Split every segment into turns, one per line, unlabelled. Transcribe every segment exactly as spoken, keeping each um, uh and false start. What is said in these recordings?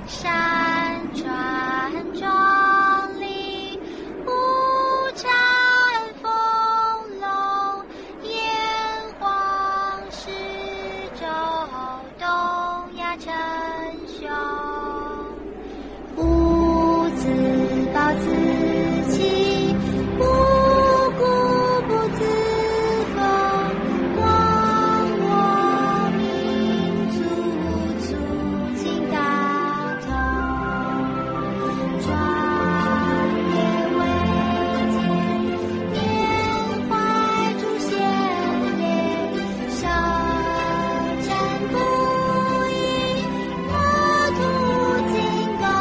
山川很壮丽，五彩丰隆，炎黄始周，东亚称雄。吾自暴自弃，不固不自封，光我民族，促进大同。壮烈伟健，缅怀祖先烈，舌战不已，国土精高。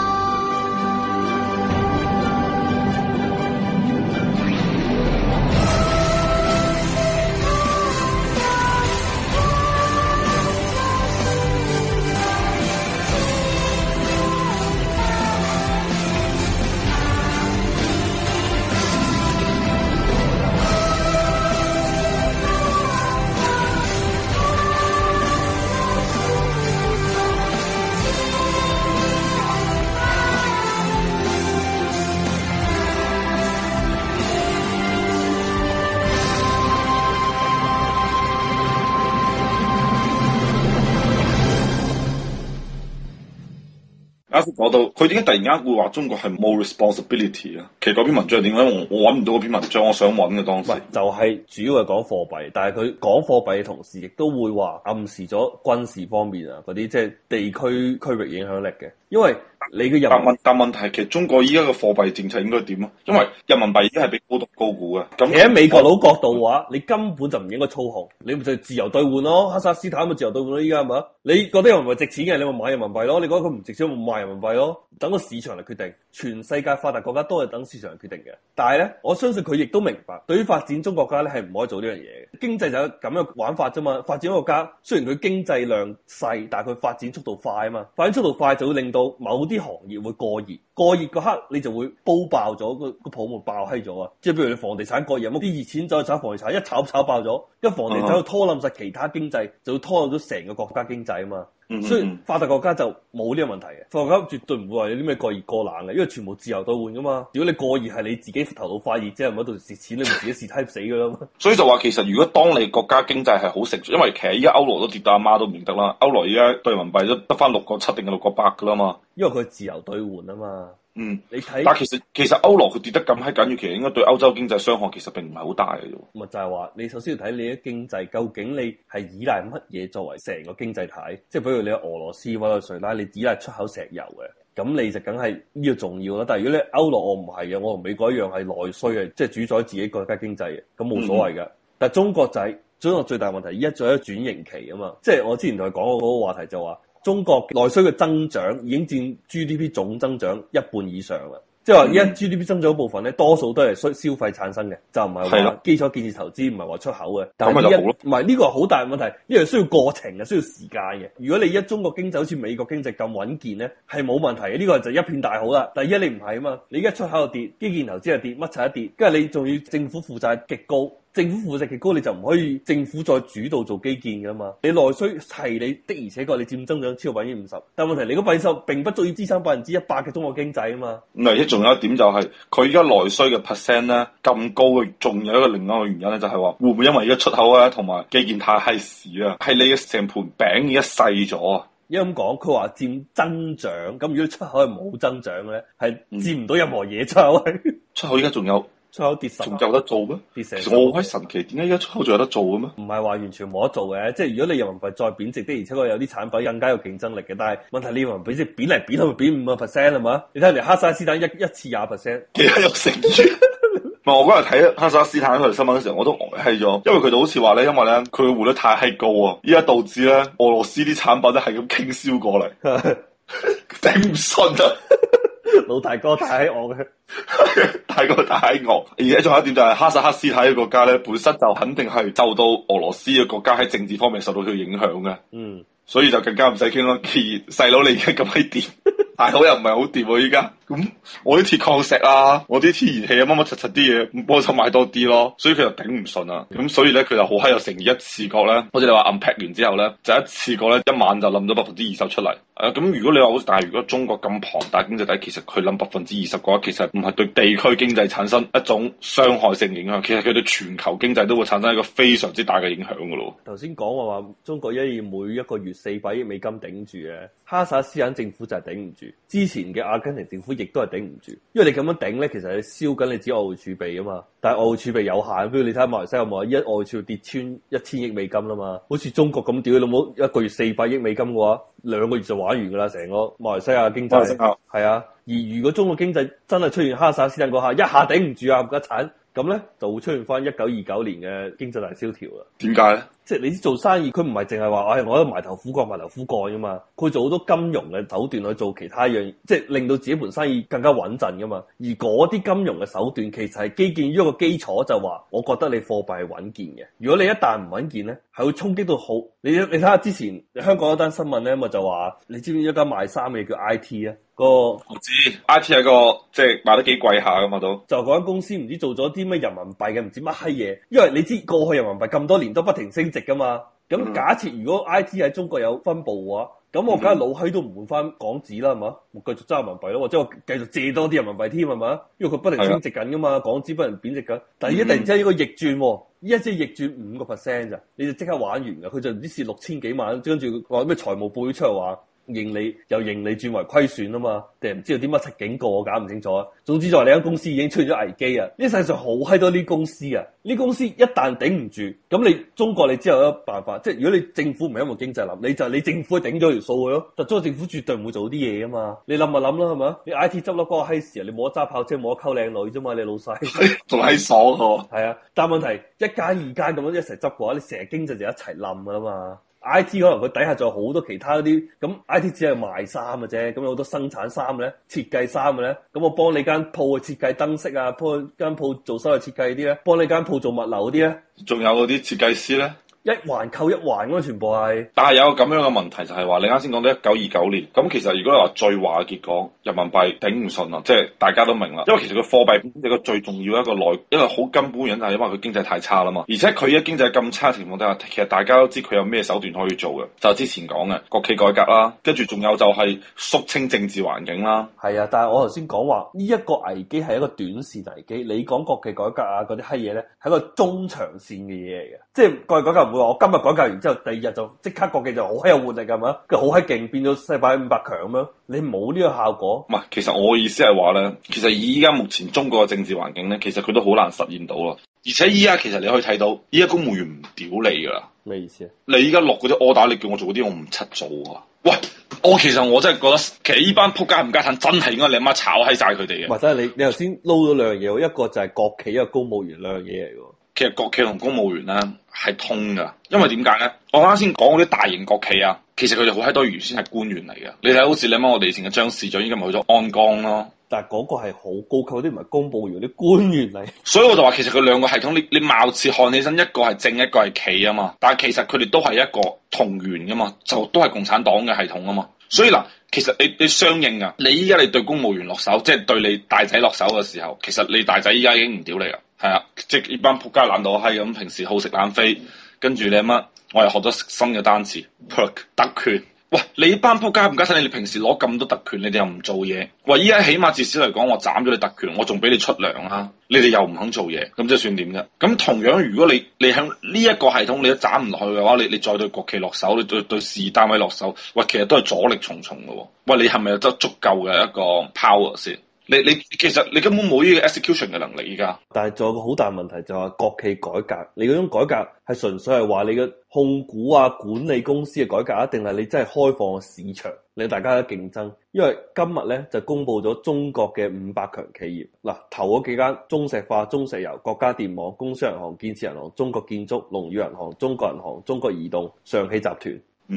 啱先講到佢點解突然間會話中國係冇 responsibility 啊？其實嗰篇文章係點解？我我揾唔到嗰篇文章，我想揾嘅當時。
唔係就係主要係講貨幣，但係佢講貨幣嘅同時，亦都會話暗示咗軍事方面啊嗰啲即係地區區域影響力嘅，因為你嘅人
但問但問題係其實中國依家嘅貨幣政策應該點啊？因為人民幣已經係被高度高估嘅。咁
企喺美國佬角度嘅話，你根本就唔應該操控，你咪就自由兌換咯。哈薩斯坦咪自由兌換咯，依家係咪？你覺得人民幣值錢嘅，你咪買人民幣咯；你覺得佢唔值錢，咪賣人民幣咯。等個市場嚟決定，全世界發達國家都係等市場嚟決定嘅。但係咧，我相信佢亦都明白，對於發展中國家咧係唔可以做呢樣嘢嘅。經濟就係咁樣玩法啫嘛。發展中國家雖然佢經濟量細，但係佢發展速度快啊嘛。發展速度快就會令到某啲行業會過熱，過熱嗰刻你就會煲爆咗個個泡沫爆閪咗啊！即係譬如你房地產過熱，啲熱錢走去炒房地產，一炒炒爆咗，一房地產就拖冧晒其他經濟，就會拖冧咗成個國家經濟啊嘛。
嗯、
所以發達國家就冇呢個問題嘅，發達國家絕對唔會話有啲咩過熱過冷嘅，因為全部自由兌換噶嘛。如果你過熱係你自己頭腦發熱，即係唔喺度蝕錢，你咪自己蝕閪死噶啦嘛。
所以就話其實如果當你國家經濟係好成熟，因為其實依家歐羅都跌到阿媽都唔認得啦，歐羅依家對人民幣都得翻六個七定係六個八噶啦嘛。
因為佢自由兌換啊嘛。
嗯，
你睇，
但其實其實歐羅佢跌得咁閪緊要，其實應該對歐洲經濟傷害其實並唔係好大嘅啫。
咪就係話，你首先要睇你嘅經濟，究竟你係依賴乜嘢作為成個經濟體？即係比如你俄羅斯、委內瑞拉，你依賴出口石油嘅，咁你就梗係呢個重要啦。但係如果你歐羅我唔係嘅，我同美國一樣係內需嘅，即係主宰自己國家經濟嘅，咁冇所謂嘅。嗯、但係中國就係、是、中國最大問題，依家仲有一轉型期啊嘛。即係我之前同佢講過嗰個話題就話，中國內需嘅增長已經佔 G D P 總增長一半以上啦。即係話依家 G D P 增長嗰部分咧，多數都係需消費產生嘅，就唔係話基礎建設投資，唔係話出口嘅。但係呢一唔係呢個好大問題，呢樣需要過程嘅，需要時間嘅。如果你一中國經濟好似美國經濟咁穩健咧，係冇問題嘅。呢個就一片大好啦。但係依家你唔係啊嘛，你而家出口又跌，基建投資又跌，乜柒一跌，跟住你仲要政府負債極高。政府負債極高，你就唔可以政府再主導做基建噶嘛？你內需係你的，而且確你佔增長超過百分之五十，但問題你個百分之並不足以支撐百分之一百嘅中國經濟啊嘛。
唔係，一仲有一點就係佢而家內需嘅 percent 咧咁高嘅，仲有一個另外一個原因咧，就係話會唔會因為而家出口啊同埋基建太閪屎啊，係你嘅成盤餅而家細咗啊？
因為咁講，佢話佔增長，咁如果出口係冇增長嘅咧，係佔唔到任何嘢出口。
出口而家仲有。
出口跌十，仲
有得做咩？跌成，我好閪神奇，點解而家出口仲有得做嘅咩？
唔係話完全冇得做嘅，即係如果你人民幣再貶值的，而且確有啲產品更加有競爭力嘅。但係問題你人民幣即係貶嚟貶去，貶五個 percent 係嘛？你睇人哋哈薩斯坦一一次廿 percent，
其他有成住。唔係我嗰日睇哈薩斯坦嗰條新聞嘅時候，我都呆閪咗，因為佢哋好似話咧，因為咧佢嘅匯率太閪高啊，依家導致咧俄羅斯啲產品咧係咁傾銷過嚟，頂唔順啊！
老大哥太惡嘅，
大哥太惡。而且仲有一點就係哈薩克斯坦嘅國家咧，本身就肯定係受到俄羅斯嘅國家喺政治方面受到佢影響嘅。嗯，所以就更加唔使傾咯。既然細佬你而家咁閪掂，大佬又唔係好掂喎依家。 咁我啲鐵礦石啊，我啲天然氣啊，乜乜柒柒啲嘢，幫手買多啲咯，所以佢就頂唔順啊。咁所以咧，佢就好閪有誠意，一次過咧，好似你話 unpack 完之後咧，就一次過咧，一晚就冧咗百分之二十出嚟。誒、啊，咁如果你話好，但係如果中國咁龐大經濟體，其實佢冧百分之二十嘅話，其實唔係對地區經濟產生一種傷害性影響，其實佢對全球經濟都會產生一個非常之大嘅影響噶咯。
頭先講話話中國一要每一個月四百億美金頂住嘅，哈薩斯坦政府就係頂唔住，之前嘅阿根廷政府亦都係頂唔住，因為你咁樣頂咧，其實你燒緊你自己外匯儲備啊嘛，但係外匯儲備有限，比如你睇下馬來西亞有冇一外匯儲備跌穿一千億美金啦嘛，好似中國咁屌你老母一個月四百億美金嘅話，兩個月就玩完噶啦，成個馬來西亞經濟係啊，而如果中國經濟真係出現哈薩斯坦嗰下一下頂唔住啊，唔得慘。咁咧就會出現翻一九二九年嘅經濟大蕭條啦。
點解咧？
即係你做生意，佢唔係淨係話，唉、哎，我喺度埋頭苦幹，埋頭苦幹噶嘛。佢做好多金融嘅手段去做其他樣，即係令到自己盤生意更加穩陣噶嘛。而嗰啲金融嘅手段，其實係基建於一個基礎，就話我覺得你貨幣係穩健嘅。如果你一旦唔穩健咧，係會衝擊到好。你你睇下之前香港一單新聞咧，咪就話，你知唔知一間賣衫嘅叫 I T 啊？個
我知 I T 係個即係賣得幾貴下噶嘛都。就
嗰間公司唔知做咗啲咩人民幣嘅唔知乜閪嘢，因為你知過去人民幣咁多年都不停升值噶嘛。咁假設如果 I T 喺中國有分部嘅話，咁我梗係老閪都唔換翻港紙啦，係嘛？我繼續揸人民幣咯，或者我繼續借多啲人民幣添，係嘛？因為佢不停升值緊噶嘛，的港紙不停貶值緊。但係而家突然之間呢個逆轉，依家即係逆轉五個 percent 咋，你就即刻玩完噶。佢就唔知蝕六千幾萬，跟住話咩財務報表出嚟話。盈利由盈利轉為虧損啊嘛，定係唔知道啲乜柒警告，我搞唔清楚啊。總之就話你間公司已經出現咗危機啊！呢世上好閪多啲公司啊，呢公司一旦頂唔住，咁你中國你之後有一個辦法，即係如果你政府唔係因為經濟冧，你就你政府頂咗條數佢咯。但中國政府絕對唔會做啲嘢啊嘛，你諗咪諗啦係嘛？你 I T 執笠嗰個閪時啊，你冇得揸跑車，冇得溝靚女啫嘛，你老細
仲喺爽喎。
係啊，但係問題一間二間咁樣一齊執嘅話，你成日經濟就一齊冧噶啦嘛。I T 可能佢底下仲有好多其他啲，咁 I T 只係賣衫嘅啫，咁有好多生產衫嘅咧，設計衫嘅咧，咁我幫你間鋪去設計燈飾啊，幫間鋪做室內設計啲咧，幫你間鋪做物流嗰啲咧，
仲有嗰啲設計師咧。
一環扣一環咁啊，全部係。但
係有個咁樣嘅問題就係話，你啱先講到一九二九年，咁其實如果你話最壞嘅結果，人民幣頂唔順啊，即係大家都明啦。因為其實個貨幣一個最重要一個內，一個好根本原因就係因為佢經濟太差啦嘛。而且佢而家經濟咁差嘅情況底下，其實大家都知佢有咩手段可以做嘅，就係之前講嘅國企改革啦，跟住仲有就係肅清政治環境啦。
係啊，但係我頭先講話呢一個危機係一個短線危機，你講國企改革啊嗰啲閪嘢咧，係一個中長線嘅嘢嚟嘅，即係國企改革唔會話我今日改革完之後，第二日就即刻國企就好閪有活力㗎嘛，佢好閪勁變咗世界五百強咁樣，你冇呢個效果。唔係，其實我嘅意思係話咧，其實以依家目前中國嘅政治環境咧，其實佢都好難實現到咯。而且依家其實你可以睇到，依家公務員唔屌你㗎啦。咩意思啊？你依家落嗰啲 order，你叫我做嗰啲，我唔出做啊！喂，我其實我真係覺得，其實依班仆街唔家產真係應該你阿媽炒閪晒佢哋嘅。或者你你頭先撈咗兩樣嘢，一個就係國企，一個公務員兩樣嘢嚟㗎。其實國企同公務員咧係通噶，因為點解咧？我啱先講嗰啲大型國企啊，其實佢哋好閪多原先係官員嚟嘅。你睇好似你諗我哋以前嘅張市長，依家咪去咗鞍鋼咯。但係嗰個係好高級，啲唔係公務員，啲官員嚟。所以我就話，其實佢兩個系統，你你貌似看起身一個係正，一個係企啊嘛。但係其實佢哋都係一個同源噶嘛，就都係共產黨嘅系統啊嘛。所以嗱，其實你你相應啊，你依家你對公務員落手，即係對你大仔落手嘅時候，其實你大仔依家已經唔屌你啦。係啊，即係呢班仆街懶到閪咁，平時好食懶飛，跟住你乜，我又學咗新嘅單詞 perk 特權。喂，你班仆街唔加上你哋平時攞咁多特權，你哋又唔做嘢。喂，依家起碼至少嚟講，我斬咗你特權，我仲俾你出糧啊！你哋又唔肯做嘢，咁即係算點啫？咁同樣，如果你你喺呢一個系統你都斬唔落去嘅話，你你再對國企落手，你對對事業單位落手，喂，其實都係阻力重重嘅。喂，你係咪有得足夠嘅一個 power 先？你你其實你根本冇呢個 execution 嘅能力依家，但係仲有個好大問題就係國企改革，你嗰種改革係純粹係話你嘅控股啊管理公司嘅改革，定係你真係開放市場令大家嘅競爭？因為今日咧就公布咗中國嘅五百強企業，嗱頭嗰幾間中石化、中石油、國家電網、工商銀行、建設銀行、中國建築、龍宇銀行、中國銀行、中國移動、上汽集團。嗯。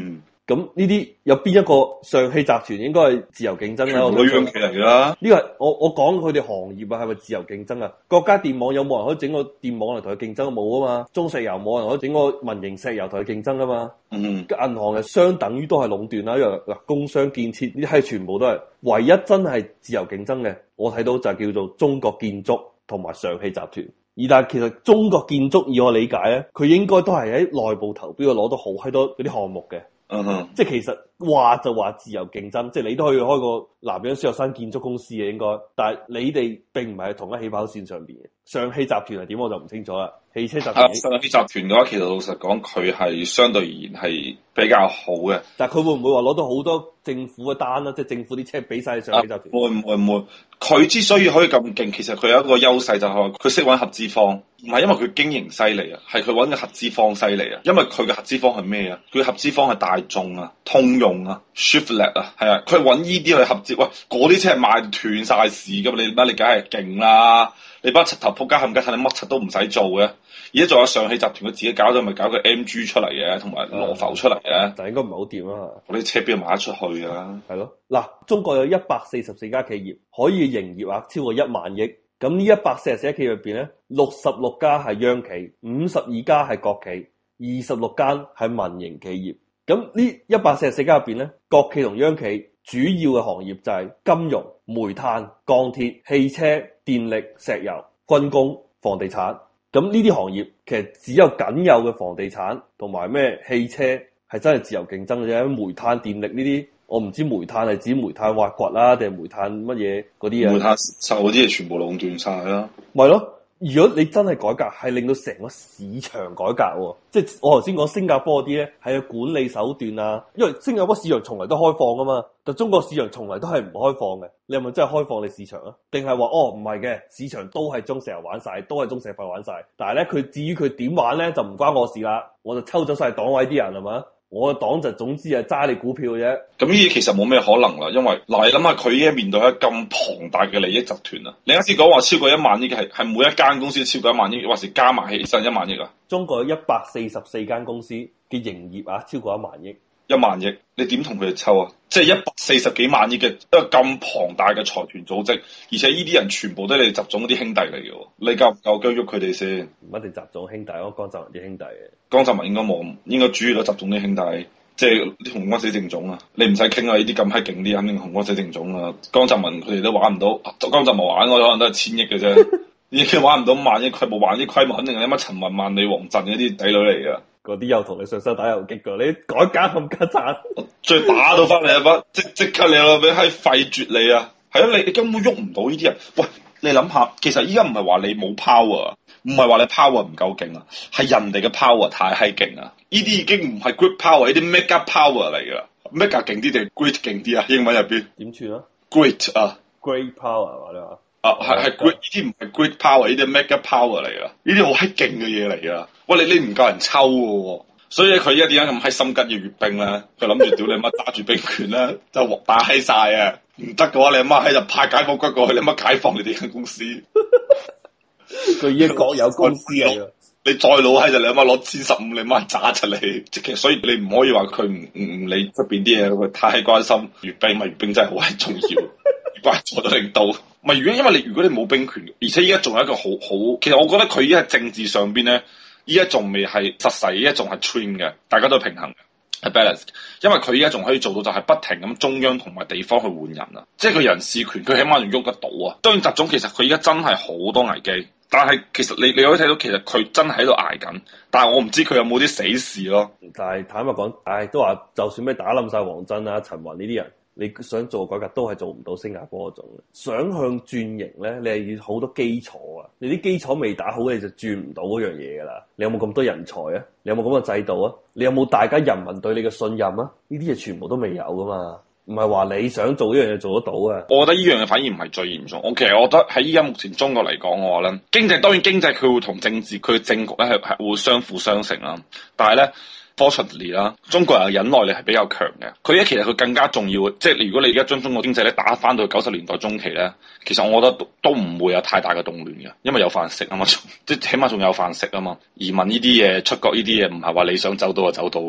咁呢啲有邊一個上汽集團應該係自由競爭咧？我
女央企嚟㗎啦。
呢個係我我講佢哋行業啊，係咪自由競爭啊？國家電網有冇人可以整個電網嚟同佢競爭？冇啊嘛。中石油冇人可以整個民營石油同佢競爭啊嘛。
嗯，
銀行係相等於都係壟斷啦，因為嗱工商建設呢啲係全部都係唯一真係自由競爭嘅。我睇到就係叫做中國建築同埋上汽集團。而但係其實中國建築以我理解咧，佢應該都係喺內部投標攞到好閪多嗰啲項目嘅。
嗯哼，
即係其實話就話自由競爭，即係你都可以開個南洋孫玉山建築公司嘅應該，但係你哋並唔係同一起跑線上邊嘅。上汽集團係點我就唔清楚啦。汽車集團，
上汽集團嘅話，其實老實講，佢係相對而言係比較好嘅。
但係佢會唔會話攞到好多政府嘅單啦？即係政府啲車俾晒上汽集團？
會唔會唔會？佢之所以可以咁勁，其實佢有一個優勢就係佢識揾合資方，唔係因為佢經營犀利啊，係佢揾嘅合資方犀利啊。因為佢嘅合資方係咩啊？佢合資方係大眾啊、通用啊、Chevrolet 啊，係啊，佢揾依啲去合資。喂，嗰啲車係賣斷晒市噶嘛？你乜你梗係勁啦！你班柒頭仆街冚家鏟，你乜柒都唔使做嘅。而家仲有上汽集團佢自己搞咗，咪搞個 M G 出嚟嘅，同埋羅浮出嚟嘅。
但係應該唔係好掂啊！
嗰啲車邊度賣得出去啊？
係咯，嗱，中國有一百四十四家企業，可以營業額超過一萬億。咁呢一百四十四家企業入邊咧，六十六家係央企，五十二家係國企，二十六間係民營企業。咁呢一百四十四家入邊咧，國企同央企主要嘅行業就係金融、煤炭、鋼鐵、汽車、電力、石油、軍工、房地產。咁呢啲行業其實只有僅有嘅房地產同埋咩汽車係真係自由競爭嘅啫。煤炭、電力呢啲，我唔知煤炭係指煤炭挖掘啦，定係煤炭乜嘢嗰啲啊？
煤炭受嗰啲嘢全部壟斷晒啦。
咪咯。如果你真係改革，係令到成個市場改革喎，即係我頭先講新加坡啲咧，係有管理手段啊。因為新加坡市場從來都開放噶嘛，但中國市場從來都係唔開放嘅。你係咪真係開放你市場啊？定係話哦唔係嘅，市場都係中石油玩晒，都係中石化玩晒。但係咧，佢至於佢點玩咧，就唔關我事啦。我就抽走晒黨委啲人係嘛。我嘅黨就總之係揸你股票嘅啫。咁
呢啲其實冇咩可能啦，因為嗱你諗下佢依家面對一咁龐大嘅利益集團啊，你啱先講話超過一萬億嘅係係每一間公司超過一萬億，還是加埋起身一萬億啊？
中國有一百四十四間公司嘅營業額超過一萬億。
一萬億，你點同佢哋抽啊？即係一百四十幾萬億嘅一個咁龐大嘅財團組織，而且呢啲人全部都係你習總嗰啲兄弟嚟嘅，你夠唔夠姜喐佢哋先？
唔一定習總兄弟，我江澤民啲兄弟嘅。
江澤民應該冇，應該主要都習總啲兄弟，即係啲紅光死正總啊！你唔使傾啊，呢啲咁閪勁啲，肯定紅光死正總啊！江澤民佢哋都玩唔到，江澤民玩我可能都係千億嘅啫，已經玩唔到萬億規模，萬億規模肯定係乜陳雲、萬里、王震嗰啲仔女嚟噶。
嗰啲又同你上手打遊擊噶，你改革咁加賺，
再打到翻嚟啊！不即即刻你老味閪廢絕你啊！係啊，你你根本喐唔到呢啲人。喂，你諗下，其實依家唔係話你冇 power，唔係話你 power 唔夠勁啊，係人哋嘅 power 太閪勁啊！呢啲已經唔係 great power，呢啲 mega power 嚟噶。mega 勁啲定 great 勁啲啊？英文入邊
點串啊
？great 啊
，great power 係嘛你話？
啊，係係 great，呢啲唔係 great power，呢啲 mega power 嚟噶。呢啲好閪勁嘅嘢嚟噶。喂，你你唔夠人抽嘅，所以佢而家點解咁閪心急要閱兵咧？佢諗住屌你媽打住兵權咧，就打閪晒啊！唔得嘅話，你阿媽喺就派解放軍過去，你阿媽解放你哋間公司。
佢已經國有公司啊！
你再老閪就你阿媽攞千十五，你阿媽炸出嚟。即係所以你唔可以話佢唔唔唔理出邊啲嘢，佢太關心閱兵，咪閱兵真係好閪重要，關錯咗領導。咪如果因為你如果你冇兵權，而且依家仲有一個好好，其實我覺得佢依家政治上邊咧。依家仲未係實勢，依家仲係 trim 嘅，大家都平衡嘅，係 balance。因為佢依家仲可以做到就係不停咁中央同埋地方去換人啊，即係佢人事權，佢起碼仲喐得到啊。當然習總其實佢依家真係好多危機，但係其實你你可以睇到其實佢真係喺度捱緊，但係我唔知佢有冇啲死事咯。
但係坦白講，唉，都話就算咩打冧晒王震啊、陳雲呢啲人。你想做改革都係做唔到新加坡嗰種，想向轉型咧，你係要好多基礎啊！你啲基礎未打好，你就轉唔到嗰樣嘢噶啦。你有冇咁多人才啊？你有冇咁嘅制度啊？你有冇大家人民對你嘅信任啊？呢啲嘢全部都未有噶嘛，唔係話你想做呢樣嘢做得到啊！
我覺得呢樣嘢反而唔係最嚴重。我其實我覺得喺依家目前中國嚟講嘅話咧，經濟當然經濟佢會同政治佢嘅政局咧係係會相輔相成啦，但係咧。Fortunately 啦，中國人嘅忍耐力係比較強嘅。佢咧其實佢更加重要，即係如果你而家將中國經濟咧打翻到九十年代中期咧，其實我覺得都都唔會有太大嘅動亂嘅，因為有飯食啊嘛，即係起碼仲有飯食啊嘛。移民呢啲嘢、出國呢啲嘢唔係話你想走到就走到噶嘛。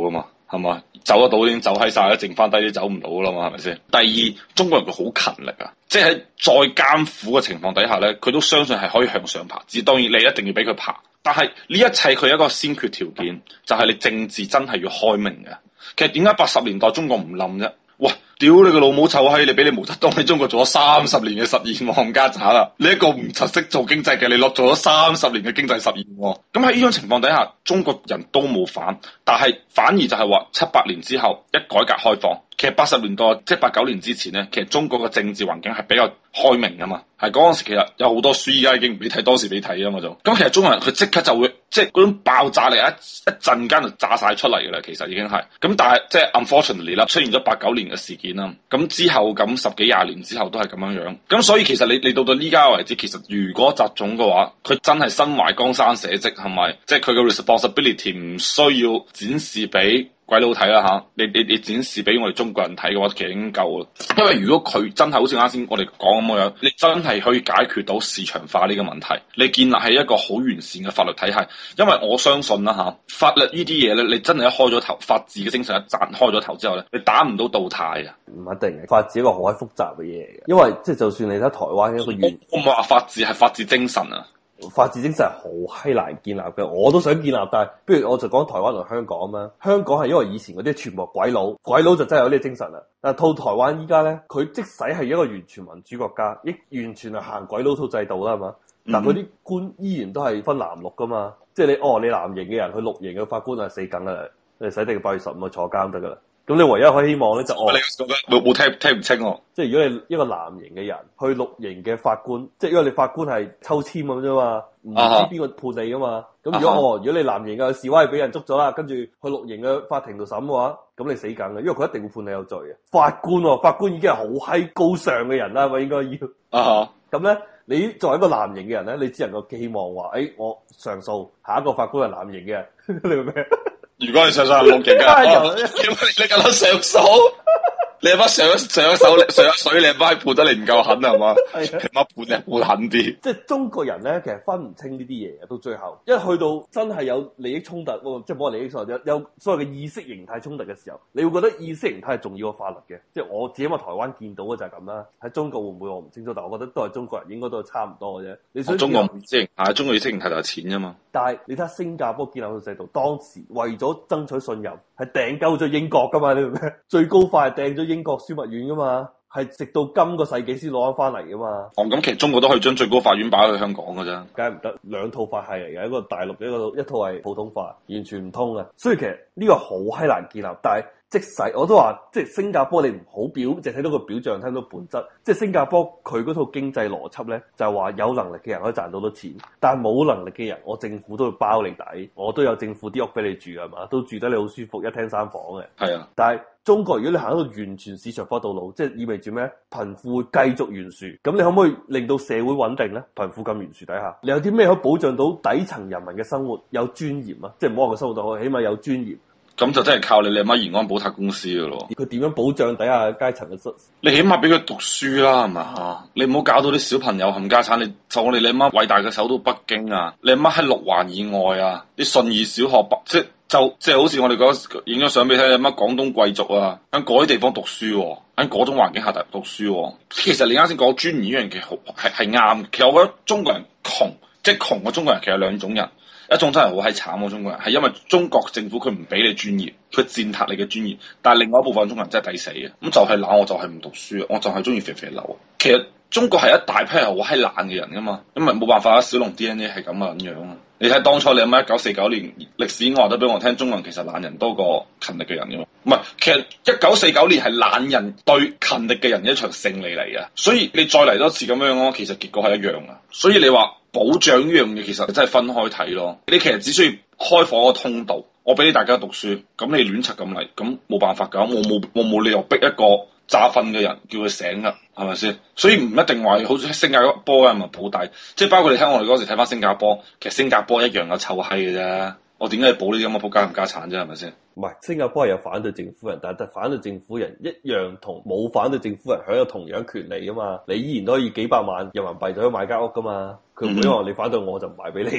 係嘛？走得到已經走閪晒啦，剩翻低啲走唔到啦嘛，係咪先？第二，中國人佢好勤力啊，即係喺再艱苦嘅情況底下咧，佢都相信係可以向上爬。只當然你一定要俾佢爬，但係呢一切佢有一個先決條件，就係、是、你政治真係要開明嘅。其實點解八十年代中國唔冧啫？哇！屌你個老母臭閪！你俾你毛澤東喺中國做咗三十年嘅實驗冚家鏟啦！你一個唔實識做經濟嘅，你落做咗三十年嘅經濟實驗喎。咁喺呢種情況底下，中國人都冇反，但係反而就係話七八年之後一改革開放，其實八十年代即係八九年之前咧，其實中國嘅政治環境係比較開明噶嘛。係嗰陣時其實有好多書，依家已經唔俾睇，當時俾睇啊嘛就。咁其實中國人佢即刻就會即係嗰種爆炸力一一陣間就炸晒出嚟噶啦，其實已經係。咁但係即係 unfortunately 啦，出現咗八九年嘅事件啦。咁之後咁十幾廿年之後都係咁樣樣。咁所以其實你你到到呢家為止，其實如果習總嘅話，佢真係身懷江山社稷，係咪？即係佢嘅 responsibility 唔需要展示俾鬼佬睇啦嚇，你你你展示俾我哋中國人睇嘅話，其實已經夠啦。因為如果佢真係好似啱先我哋講咁樣，你真係可以解決到市場化呢個問題，你建立係一個好完善嘅法律體系。因為我相信啦嚇，法律呢啲嘢咧，你真係一開咗頭，法治嘅精神一賺開咗頭之後咧，你打唔到倒軚啊！
唔一定嘅，法治一個好閪複雜嘅嘢嚟嘅，因為即係就算你睇台灣一個原，
我唔係話法治係法治精神啊。
法治精神係好閪難建立嘅，我都想建立，但係不如我就講台灣同香港啊嘛。香港係因為以前嗰啲全部鬼佬，鬼佬就真係有呢個精神啦。但係套台灣依家咧，佢即使係一個完全民主國家，亦完全係行鬼佬套制度啦，係嘛？但係佢啲官依然都係分藍綠噶嘛，即係你哦，你藍營嘅人去綠營嘅法官係死梗噶啦，你使定八月十五去坐監得噶啦。咁你唯一可以希望咧就哦，
冇冇聽聽唔清喎。
即係如果你一個藍營嘅人去綠營嘅法官，即係因為你法官係抽籤咁啫嘛，唔知邊個判你噶嘛。咁、uh huh. 如果哦，如果你藍營嘅示威俾人捉咗啦，跟住去綠營嘅法庭度審嘅話，咁你死梗嘅，因為佢一定會判你有罪嘅。法官、哦，法官已經係好閪高尚嘅人啦，係咪應該要？啊咁咧，你作為一個藍營嘅人咧，你只能夠寄望話，誒、哎，我上訴，下一個法官係藍營嘅人，你明唔明？
如果你上上係綠營嘅，哦、你你咁多上訴，你阿媽上一上一手上一水，你阿媽判得你唔夠狠係嘛？你阿媽判你判狠啲。即係中國人咧，其實分唔清呢啲嘢嘅，到最後一去到真係有利益衝突，即係冇利益衝突，有有所謂嘅意識形態衝突嘅時候，你會覺得意識形態係重要過法律嘅。即係我自己喺台灣見到嘅就係咁啦。喺中國會唔會我唔清楚，但係我覺得都係中國人應該都係差唔多嘅啫。你想中國意識形態，中國意識形態就係錢啫嘛。但係你睇下新加坡建立個制度，當時為咗爭取信任，係掟鳩咗英國噶嘛？你明唔明？最高法係掟咗英國樞密院噶嘛？係直到今個世紀先攞翻翻嚟噶嘛？哦，咁其實中國都可以將最高法院擺去香港噶啫，梗係唔得。兩套法系嚟嘅，一個大陸，一個一套係普通法，完全唔通嘅。所以其實呢個好閪難建立，但係。即使我都話，即係新加坡你唔好表，淨睇到個表象，睇到本質。即係新加坡佢嗰套經濟邏輯咧，就係話有能力嘅人可以賺到多錢，但係冇能力嘅人，我政府都會包你底，我都有政府啲屋俾你住係嘛，都住得你好舒服，一廳三房嘅。係啊，但係中國如果你行一個完全市場化道路，即係意味住咩？貧富會繼續懸殊，咁你可唔可以令到社會穩定咧？貧富咁懸殊底下，你有啲咩可以保障到底層人民嘅生活有尊嚴啊？即係唔好話佢生活到，起碼有尊嚴。咁就真係靠你你阿媽延安寶塔公司噶咯。佢點樣保障底下階層嘅生？你起碼俾佢讀書啦，係嘛嚇？你唔好搞到啲小朋友冚家產。你就我哋你阿媽偉大嘅首都北京啊，你阿媽喺六環以外啊，啲信義小學即就即係好似我哋講影咗相俾你睇，你阿媽廣東貴族啊，喺嗰啲地方讀書，喺嗰種環境下讀讀書。其實你啱先講尊嚴呢樣嘢好係係啱。其實我覺得中國人窮，即係窮嘅中國人其實有兩種人。一種真係好閪慘嘅中國人，係因為中國政府佢唔俾你專業，佢踐踏你嘅專業。但係另外一部分中國人真係抵死嘅，咁就係懶，我就係唔讀書，我就係中意肥肥流。其實中國係一大批係好閪懶嘅人噶嘛，因為冇辦法啊，小龍 D N A 係咁嘅樣啊。你睇當初你阿媽一九四九年歷史我話得俾我聽，中國人其實懶人多過勤力嘅人噶嘛。唔係，其實一九四九年係懶人對勤力嘅人一場勝利嚟嘅。所以你再嚟多次咁樣咯，其實結果係一樣噶。所以你話保障呢樣嘢其實真係分開睇咯。你其實只需要開放一個通道，我俾大家讀書，咁你亂柒咁嚟，咁冇辦法㗎。我冇我冇理由逼一個詐瞓嘅人叫佢醒㗎，係咪先？所以唔一定話好似新加坡嘅咪保底，即係包括你睇我哋嗰時睇翻新加坡，其實新加坡一樣有臭閪嘅啫。我點解要保呢啲咁嘅仆街冚家產啫？係咪先？唔係，新加坡係有反對政府人，但係反對政府人一樣同冇反對政府人享有同樣權利噶嘛？你依然都可以幾百萬人民幣就可以買間屋噶嘛？佢唔會話你反對我就唔賣俾你嘅。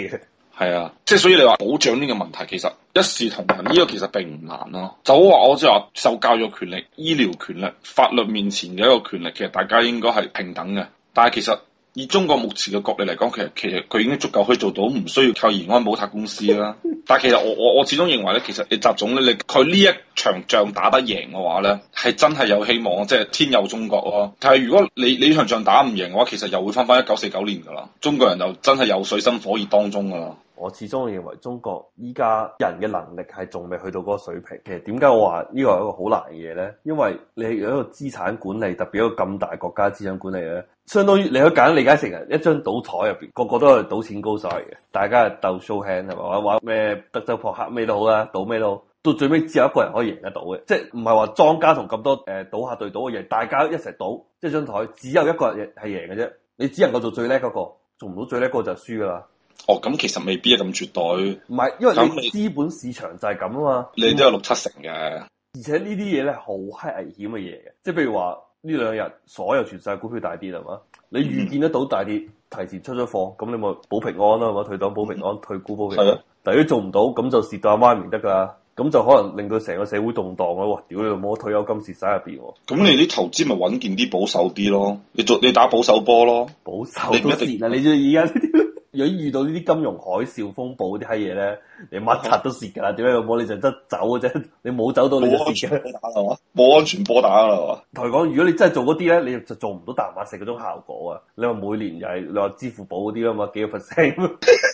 係啊，即係所以你話保障呢個問題，其實一視同仁呢個其實並唔難咯。就好話我即係話受教育權利、醫療權利、法律面前嘅一個權利，其實大家應該係平等嘅。但係其實以中國目前嘅國力嚟講，其實其實佢已經足夠可以做到，唔需要靠延安寶塔公司啦。但係其實我我我始終認為咧，其實你習總咧，你佢呢一場仗打得贏嘅話咧，係真係有希望，即係天佑中國咯。但係如果你你呢場仗打唔贏嘅話，其實又會翻翻一九四九年噶啦，中國人就真係有水深火熱當中噶啦。
我始終認為中國依家人嘅能力係仲未去到嗰個水平。其實點解我話呢個係一個好難嘅嘢咧？因為你有一個資產管理，特別一個咁大國家資產管理咧，相當於你可以簡單理解成一張賭台入邊，個個都係賭錢高手嚟嘅，大家係鬥 show hand 係嘛？玩咩德州撲克咩都好啦，賭咩都好，到最尾只有一個人可以贏得到嘅，即係唔係話莊家同咁多誒賭客對賭嘅嘢，大家一齊賭，即係張台只有一個人係贏嘅啫，你只能夠做最叻嗰個，做唔到最叻嗰個就輸噶啦。
哦，咁其實未必係咁絕對。
唔係，因為你資本市場就係咁啊嘛。
你都有六七成嘅。
而且呢啲嘢咧好閪危險嘅嘢嘅，即係譬如話呢兩日所有全世界股票大跌係嘛，你預見得到大跌，提前出咗貨，咁你咪保平安啦，係嘛，退黨保平安，退股保平安。係啊。但係如果做唔到，咁就蝕到阿媽唔得噶啦，咁就可能令到成個社會動盪咯。哇！屌你老母，退休金蝕晒入邊。咁
你啲投資咪穩健啲、保守啲咯？你做你打保守波咯？保
守都蝕啊！你知而家呢啲。如果遇到呢啲金融海嘯風暴啲閪嘢咧，你乜柒都蝕噶啦，點解老母你就得走嘅啫？你冇走到你就蝕嘅，
冇安全波打啦嘛。
同你講，如果你真係做嗰啲咧，你就做唔到淡馬錫嗰種效果啊！你話每年又係你話支付寶嗰啲啊嘛，幾個 percent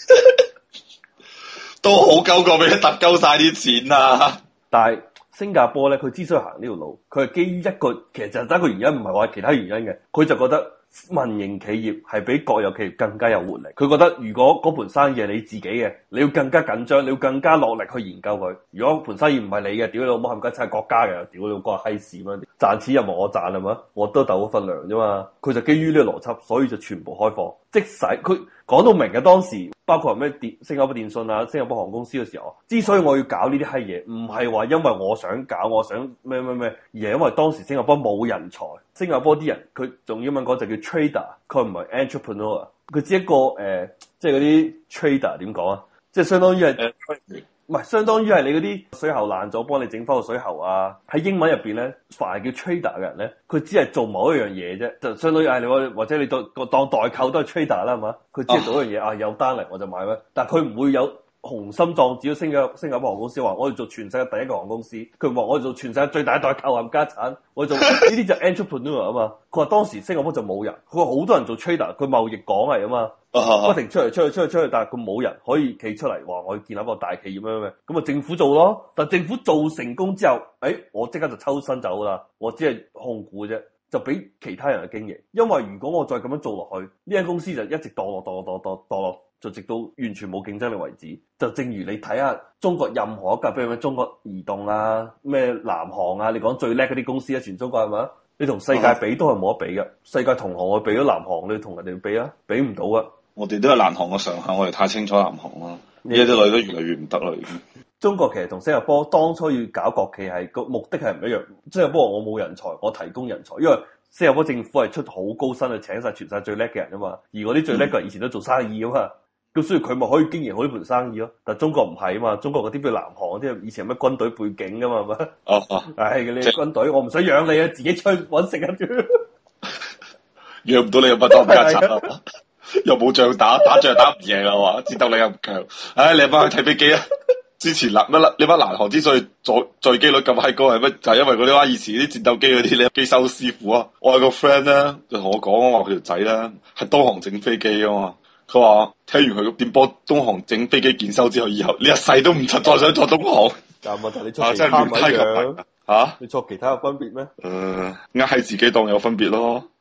都好鳩過俾佢揼鳩晒啲錢啊！
但係新加坡咧，佢之所以行呢條路，佢係基於一個其實就係得一個原因，唔係話其他原因嘅，佢就覺得。民營企業係比國有企業更加有活力。佢覺得如果嗰盤生意係你自己嘅，你要更加緊張，你要更加落力去研究佢。如果盤生意唔係你嘅，屌你老母冚家鏟係國家嘅，屌你老母個閪事咩？賺錢又冇我賺係嘛？我都鬥嗰份糧啫嘛。佢就基於呢個邏輯，所以就全部開放。即使佢講到明嘅當時，包括咩電新加坡電信啊、新加坡航空公司嘅時候，之所以我要搞呢啲閪嘢，唔係話因為我想搞，我想咩咩咩，而係因為當時新加坡冇人才。新加坡啲人佢用英文講就叫 trader，佢唔係 entrepreneur，佢只一個誒、呃，即係嗰啲 trader 點講啊？即係相當於係唔係相當於係你嗰啲水喉爛咗，幫你整翻個水喉啊？喺英文入邊咧，凡係叫 trader 嘅人咧，佢只係做某一樣嘢啫，就相當於係你或者你當個當代購都係 trader 啦，係嘛？佢只係做一樣嘢、哦、啊，有單嚟我就買咩，但係佢唔會有。雄心壯志，新加新加坡航空公司話：我哋做全世界第一個航空公司。佢話：我哋做全世界最大代購冚家產。我哋做呢啲就 entrepreneur 啊嘛。佢話當時新加坡就冇人，佢話好多人做 trader，佢貿易港嚟啊嘛，不停出嚟出去出去出去，但係佢冇人可以企出嚟話我要建立一個大企業咩咩，咁啊政府做咯。但係政府做成功之後，誒、哎、我即刻就抽身走啦，我只係控股啫。就俾其他人去經營，因為如果我再咁樣做落去，呢間公司就一直墮落、墮落、墮落、墮落，就直到完全冇競爭力為止。就正如你睇下中國任何一間，譬如咩中國移動啊、咩南航啊，你講最叻嗰啲公司啊，全中國係咪？你同世界比都係冇得比嘅。世界同行我比咗南航，你同人哋比啊，比唔到啊。
我哋都係南航嘅上限，我哋太清楚南航啦。呢啲女都越嚟越唔得啦，已經。
中國其實同新加坡當初要搞國企係個目的係唔一樣。新加坡我冇人才，我提供人才，因為新加坡政府係出好高薪去請晒全世界最叻嘅人啊嘛。而嗰啲最叻嘅人以前都做生意啊嘛，咁所以佢咪可以經營好呢盤生意咯。但係中國唔係啊嘛，中國嗰啲譬如南航嗰啲以前有咩軍隊背景噶嘛，係咪？哦哦，唉，你軍隊我唔想養你啊，自己出去搵食啊，
養唔到你又乜當家賊啊？又冇仗打，打仗打唔贏啊嘛，戰鬥力又唔強。唉，你阿媽去睇飛機啊！之前南乜你乜南航之所以載載機率咁閪高係乜？就係、是、因為嗰啲話以前啲戰鬥機嗰啲你機修師傅啊，我有個 friend 咧就同我講話佢條仔咧係東航整飛機啊嘛。佢話聽完佢點播東航整飛機檢修之後，以後呢一世都唔曾再想坐東航。
但係問題你坐其他咪一樣？
吓？
你坐其他有分別咩？
誒、呃，呃係自己當有分別咯。